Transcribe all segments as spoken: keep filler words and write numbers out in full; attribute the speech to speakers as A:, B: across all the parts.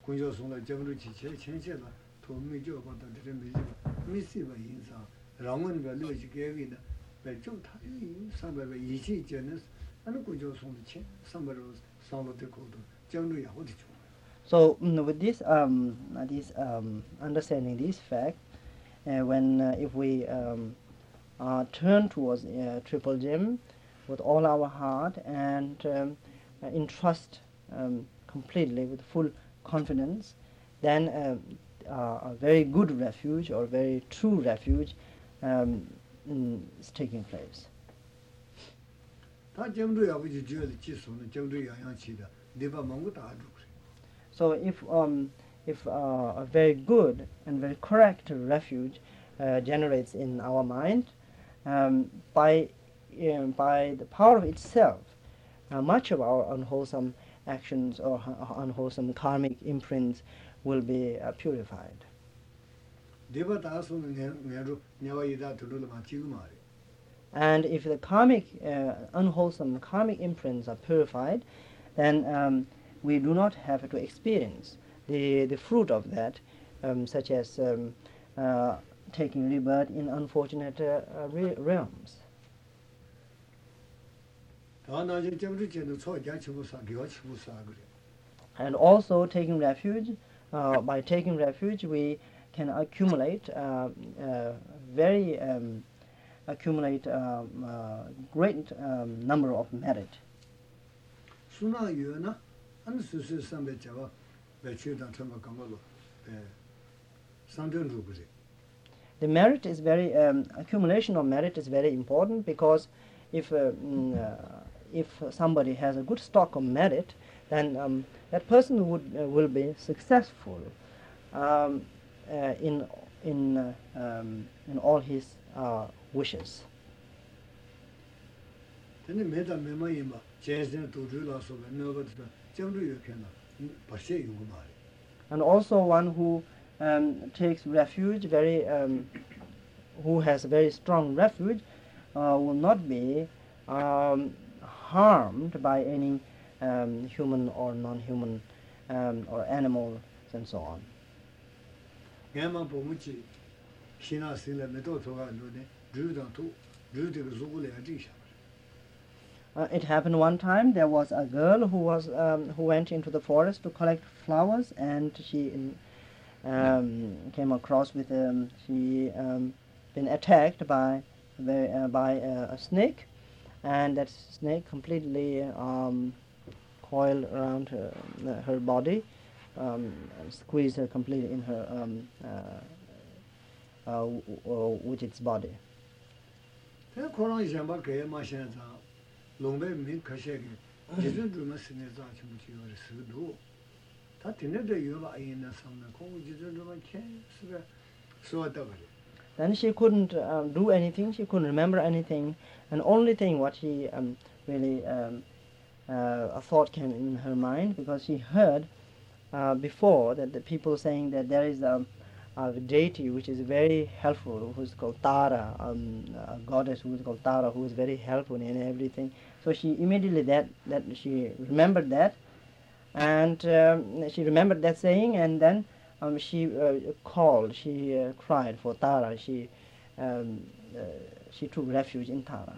A: kunjo song la jamru chi che chen che la to mi jo ba da de mi ji mi si ba yin sa rang wen ba le ji ge gi na ba jo ta yi san ba ba yi chi je ne an kunjo song de chen san ba ro san lo de ko do jamru ya ho de jo.
B: So mm, with this um, uh, this um, understanding this fact, uh, when uh, if we um, uh, turn towards uh, Triple Gem with all our heart and um, uh, entrust um, completely with full confidence, then um, uh, a very good refuge or very true refuge um, mm, is taking place.
A: Ta jamru ya bu ji je le ji so ne jamru ya yang chi da de ba mong da du.
B: So if um, if uh, a very good and very correct refuge uh, generates in our mind, um, by um, by the power of itself, uh, much of our unwholesome actions or uh, unwholesome karmic imprints will be uh, purified.
A: De ba da so ne ne ro ne wa yi da tu lo ma ji ma re.
B: And if the karmic, uh, unwholesome karmic imprints are purified, then um, we do not have to experience the, the fruit of that, um, such as um, uh, taking rebirth in unfortunate uh, uh, re- realms. And also taking refuge, uh, by taking refuge we can accumulate uh, uh, very um, accumulate um, uh, great um, number of merit. The merit is very um, accumulation of merit is very important, because if uh, mm, uh, if somebody has a good stock of merit, then um, that person would uh, will be successful um, uh, in in uh, um, in all his uh, wishes. And also one who um, takes refuge, very um, who has very strong refuge, uh, will not be um, harmed by any um, human or non-human um, or animals and so on. Uh, it happened one time. There was a girl who was um, who went into the forest to collect flowers, and she um, came across with um, she um, been attacked by the, uh, by uh, a snake, and that snake completely um, coiled around her, her body, um, and squeezed her completely in her um, uh, uh, w- w- with its body. Then she couldn't um, do anything, she couldn't remember anything, and only thing what she um, really um, uh, a thought came in her mind, because she heard uh, before that the people saying that there is a, a deity which is very helpful, who is called Tara, um, a goddess who is called Tara, who is very helpful in everything. So she immediately that that she remembered that, and um, she remembered that saying, and then um, she uh, called, she uh, cried for Tara. She um, uh, she took refuge in Tara.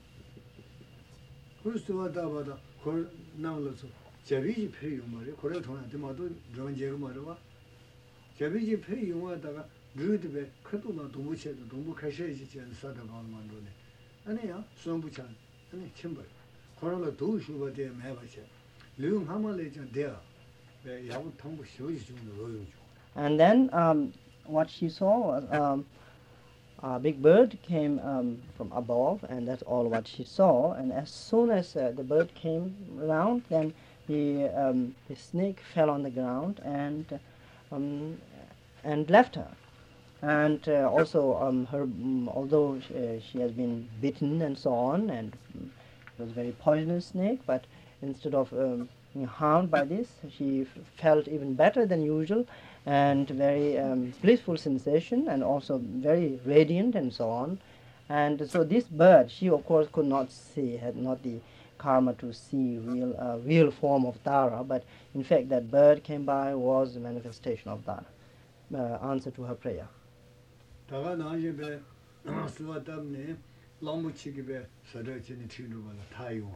B: And then um, what she saw was um, a big bird came um, from above, and that's all what she saw. And as soon as uh, the bird came around, then the um, the snake fell on the ground and um, and left her. And uh, also um, her, um, although she, uh, she has been bitten and so on, and um, it was a very poisonous snake, but instead of um, being harmed by this, she f- felt even better than usual, and very um, blissful sensation, and also very radiant and so on. And so this bird, she of course could not see, had not the karma to see real uh, real form of Tara, but in fact that bird came by was a manifestation of Tara, uh, answer to her prayer.
A: 다가 나중에 수와 때문에 람부치기에 서러지는 뒤로가 타요.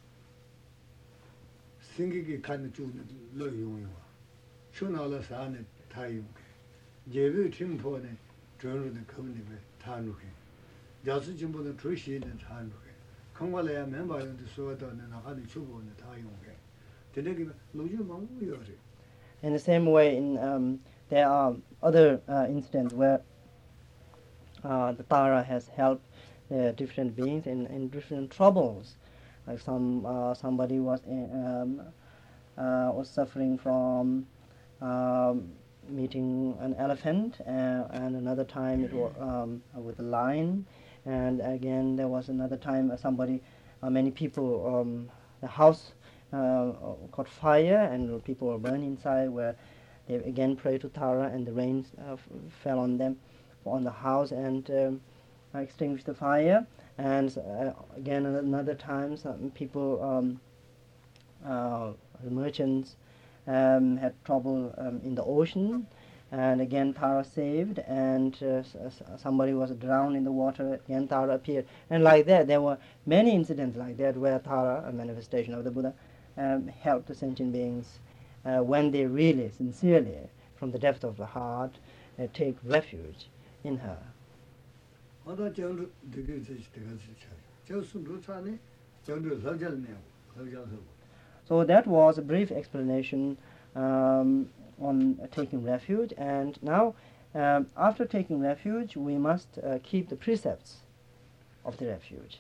A: 생기기 가는 쪽은 로용이와. 촌나라 사는 타요. 예배 팀포네 저는 거기에 타누게. 자수 진보는 조시는 타누게. 강발해야 멤버한테 수와도는 나가는 주보는 타요게. 되게 로주 망고요래.
B: In the same way, in um, there are other uh, incidents where uh, the Tara has helped the different beings in, in different troubles. Like some uh, somebody was in, um, uh, was suffering from um, meeting an elephant, uh, and another time it was um, with a lion, and again there was another time uh, somebody, uh, many people, um, the house uh, caught fire and people were burned inside, where they again prayed to Tara and the rain uh, f- fell on them, on the house, and um, extinguished the fire. And uh, again another time some people, um, uh, merchants, um, had trouble um, in the ocean, and again Tara saved, and uh, s- s- somebody was drowned in the water, again Tara appeared, and like that there were many incidents like that where Tara, a manifestation of the Buddha, um, helped the sentient beings uh, when they really, sincerely, from the depth of the heart, uh, take refuge in her.
A: 아다 정도 되게 되게 되게 저 순도 차네 정도 설절네요. 설절서.
B: So that was a brief explanation um, on uh, taking refuge, and now um, after taking refuge we must uh, keep the precepts of the refuge.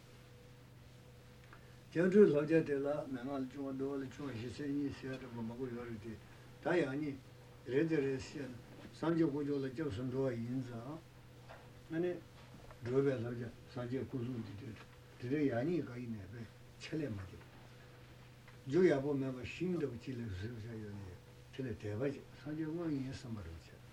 A: 정도 설절되라 내가 좀더 좀 희생이 있어야 되고 먹고 요리돼. 다양히 레저레시 상조 고조를 저 순도와 인자. 아니 로베라자 상조 고조를 되게 양이 가 있네. 첼레 맞아. 조야 보면 힘도 붙이려 서서요. 첼레 대바지. 상조 원이 선물을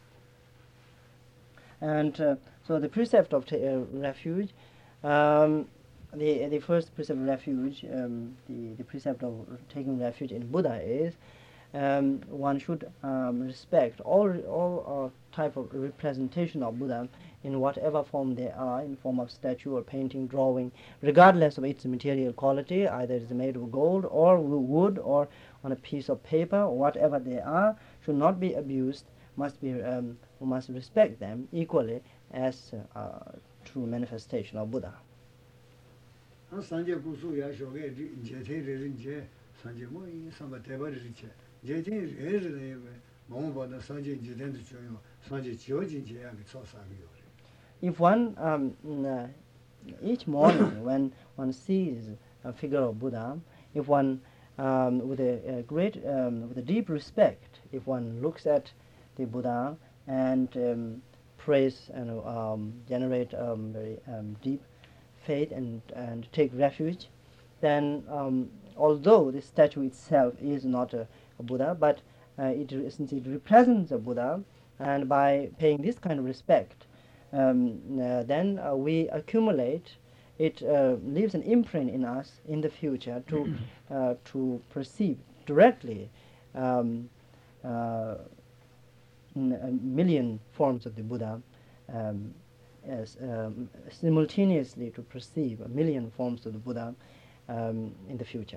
B: And uh, so the precept of ta- uh, refuge, um, the the first precept of refuge, um, the, the precept of taking refuge in Buddha is um, one should um, respect all all uh, type of representation of Buddha in whatever form they are, in form of statue or painting, drawing, regardless of its material quality, either it is made of gold or wood or on a piece of paper, or whatever they are, should not be abused, must be um, we must respect them equally as uh, uh, true manifestation of Buddha.
A: 아 상조 고수야 쇼게 제테르 이제 상조 뭐이 상바 대바르지. 제제 레르네 뭐보다 상조 지된도 줘요. 상조 지어진지야 그 초사비요.
B: If one, um, n- uh, each morning when one sees a figure of Buddha, if one, um, with a, a great, um, with a deep respect, if one looks at the Buddha and um, prays and um, generate um, very um, deep faith and, and take refuge, then um, although the statue itself is not a, a Buddha, but uh, it, since it represents a Buddha, and by paying this kind of respect, um, uh, then uh, we accumulate, it uh, leaves an imprint in us in the future to uh, to perceive directly um, uh, n- a million forms of the Buddha, um, as um, simultaneously to perceive a million forms of the Buddha um, in the future.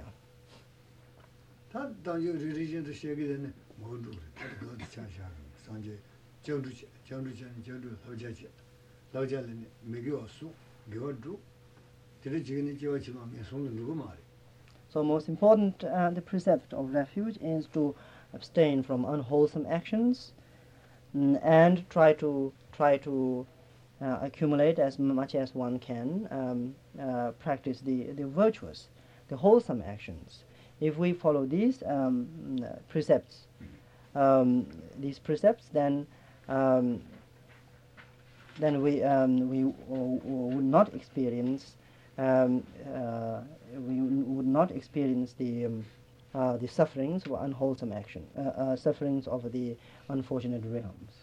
A: 다 당요 리리전도 시작이되는 모두 그것도 차샤 상제 정주 정주전 정주 서자지 서자는 미교수 교주 들이 지금이 지어지만 손을 누구 말이.
B: So most important, uh, the precept of refuge is to abstain from unwholesome actions, mm, and try to try to uh, accumulate as much as one can, um, uh, practice the, the virtuous, the wholesome actions. If we follow these um, uh, precepts, um, these precepts, then um, then we um, we w- w- would not experience um, uh, we would not experience the um, uh, the sufferings of unwholesome action, uh, uh, sufferings of the unfortunate realms.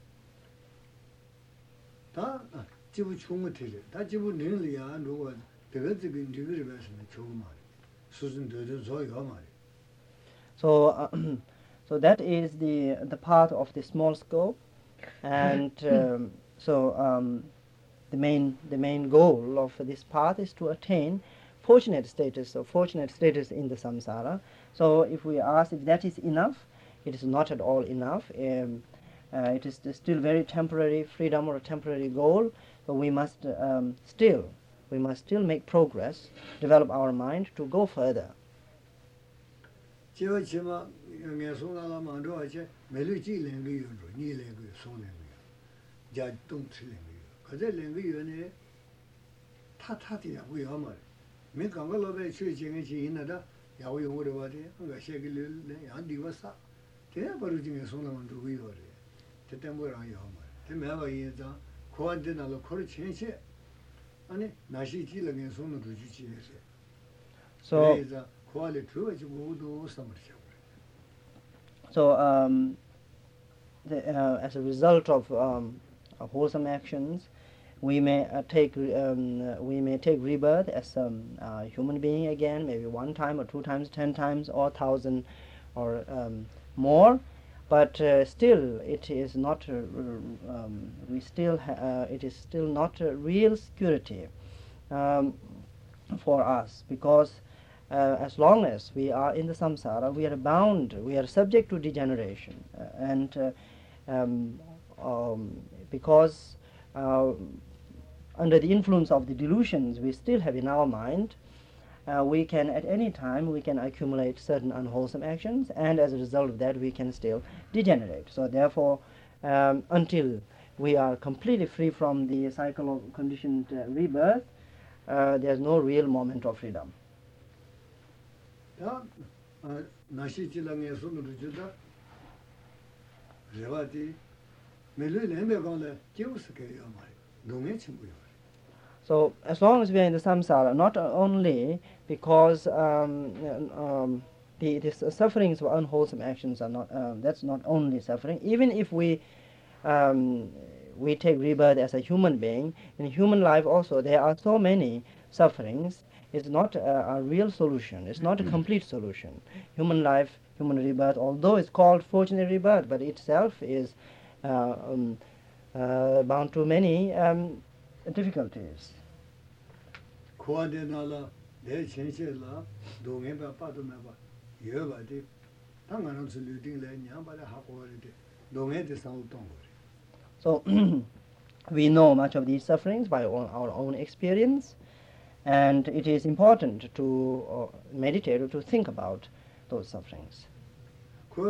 A: 다 지부 총무 틀이 다 지부 능리야 누가 되게 지금 리그를 배우면 좋은 말. 수준 되는 소요 말이야.
B: So, uh, so that is the the part of the small scope, and um, so um, the main the main goal of this path is to attain fortunate status or fortunate status in the samsara. So, if we ask if that is enough, it is not at all enough. Um, uh, it is still very temporary freedom or a temporary goal, but we must um, still we must still make progress, develop our mind to go further.
A: 제가 지마 내 손나라 만도 어제 매일 지는 거 요로 니는 거 손는 거. 자 동치는 거. 그저 랭거 요네 타타디야 뭐야 말. 매 강가로에 최진의 지인나다 야고 용어로 와대. 그가 세길래 안 디버사. 대야 바로 중에 손나만 두고 요래. 그때 뭐랑 요 말. 대매가 이자 고한테 나로 코를 천체. 아니 나시 지는 손을 주지 해서.
B: So So, um, the, uh, as a result of, um, of wholesome actions, we may uh, take um, uh, we may take rebirth as a um, uh, human being again, maybe one time or two times, ten times, or thousand, or um, more. But uh, still, it is not. Uh, um, we still. Ha uh, it is still not a real security um, for us, because Uh, as long as we are in the samsara, we are bound, we are subject to degeneration, uh, and uh, um, um, because uh, under the influence of the delusions we still have in our mind, uh, we can at any time we can accumulate certain unwholesome actions, and as a result of that we can still degenerate. So therefore, um, until we are completely free from the cycle of conditioned uh, rebirth, uh, there is no real moment of freedom.
A: 야, 나시 지랑에 손으로 주다. 제가디 매일 내면간에 기우스게요 말. 농에 친구요.
B: So as long as we are in the samsara, not only because um, um, the, the sufferings of unwholesome actions are not, um, that's not only suffering. Even if we um, we take rebirth as a human being, in human life also there are so many sufferings. It's not a, a real solution. It's not a complete solution. Human life, human rebirth, although it's called fortunate rebirth, but itself is uh, um, uh, bound to many um, difficulties. So we know much of these sufferings by our, our own experience. And it is important to uh, meditate or to think about those sufferings. So,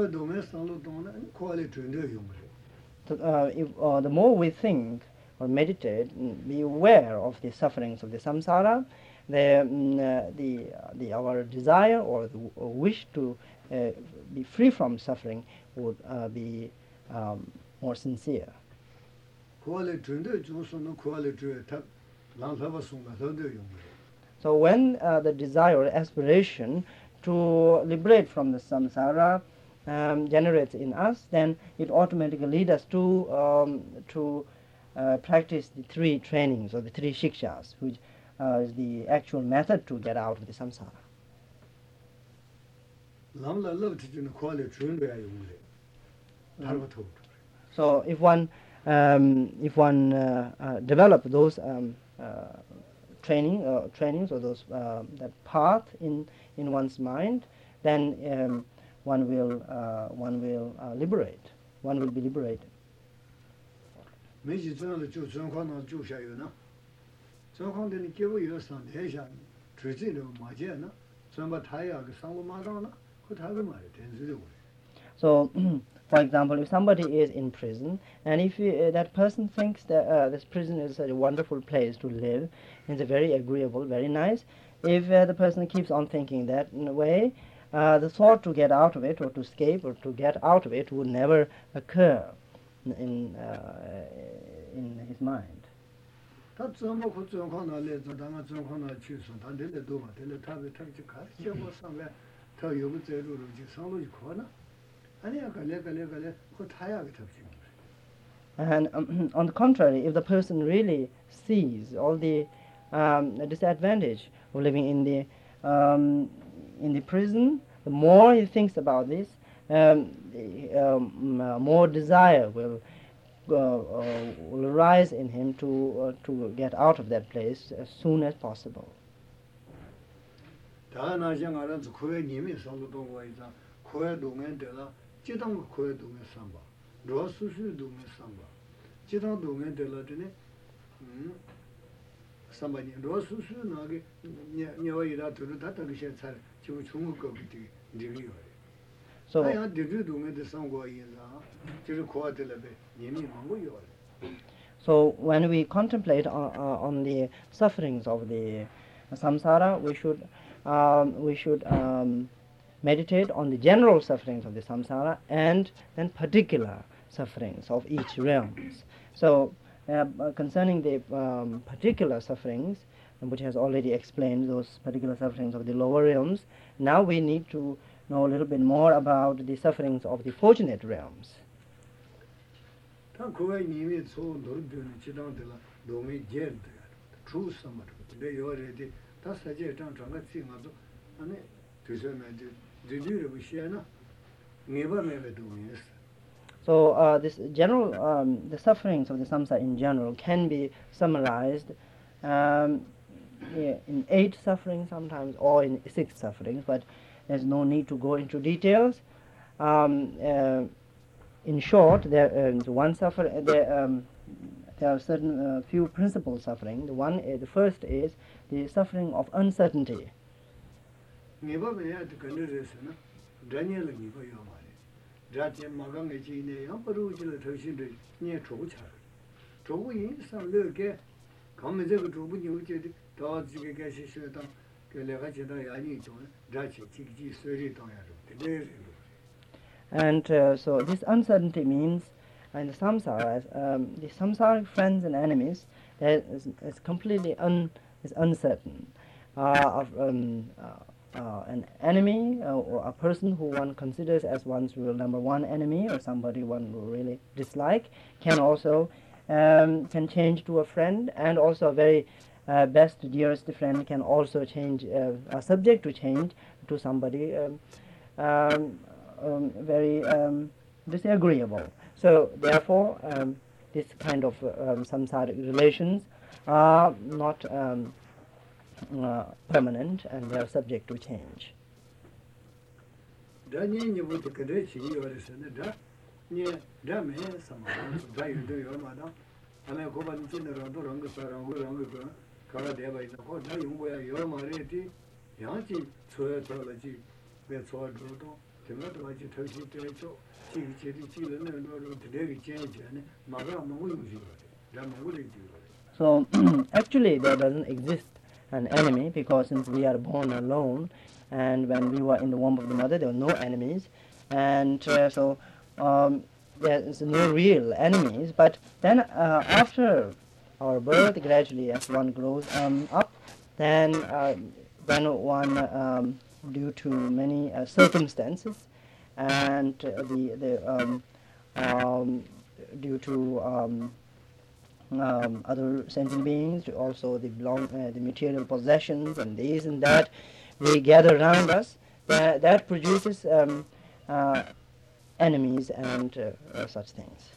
B: uh, if, uh, the more we think or meditate, be aware of the sufferings of the samsara, the, um, uh, the, uh, the, our desire or the or wish to uh, be free from suffering would uh, be um, more sincere. So when uh, the desire or aspiration to liberate from the samsara um, generates in us, then it automatically leads us to um, to uh, practice the three trainings or the three shikshas, which uh, is the actual method to get out of the samsara. Mm. So if one um, if one uh, uh, develop those um, uh, training uh, trainings or those uh, that path in in one's mind, then um, one will uh, one will uh, liberate. One will be liberated. So, for example, if somebody is in prison, and if you, uh, that person thinks that uh, this prison is a wonderful place to live, it's a very agreeable, very nice, if uh, the person keeps on thinking that in a way, uh, the thought to get out of it or to escape or to get out of it would never occur in, uh, in his mind. And um, on the contrary, if the person really sees all the um, disadvantage of living in the um, in the prison, the more he thinks about this, um, the, um, uh, more desire will, uh, uh, will arise in him to, uh, to get out of that place as soon as possible. So, so when we contemplate on, uh, on the sufferings of the samsara, we should um, we should um, meditate on the general sufferings of the samsara and then particular sufferings of each realms. So uh, concerning the um, particular sufferings, which has already explained those particular sufferings of the lower realms, now we need to know a little bit more about the sufferings of the fortunate realms. So uh, this general, um, the sufferings of the samsara in general can be summarized um, yeah, in eight sufferings sometimes, or in six sufferings, but there's no need to go into details. Um, uh, in short, there is one suffer. There, um, there are certain uh, few principal suffering. The one, uh, the first is the suffering of uncertainty. And uh, so this uncertainty means, in the samsara, um, the samsaric friends and enemies, that is, is completely un, is uncertain. Uh, of, um, uh, uh, an enemy uh, or a person who one considers as one's real number one enemy, or somebody one will really dislike, can also um, can change to a friend, and also a very uh, best, dearest friend can also change, uh, are subject to change to somebody um, um, um, very um, disagreeable. So therefore, um, this kind of uh, um, samsaric relations are not um, uh, permanent, and they are subject to change. So actually there doesn't exist an enemy, because since we are born alone, and when we were in the womb of the mother there were no enemies, and uh, so um, there is no real enemies. But then uh, after our birth, gradually as one grows um, up, then uh, then one um, due to many uh, circumstances, and uh, the the um, um, due to um, um, other sentient beings, also the belong uh, the material possessions and this and that we gather around us, that, that produces um, uh, enemies and uh, uh, such things.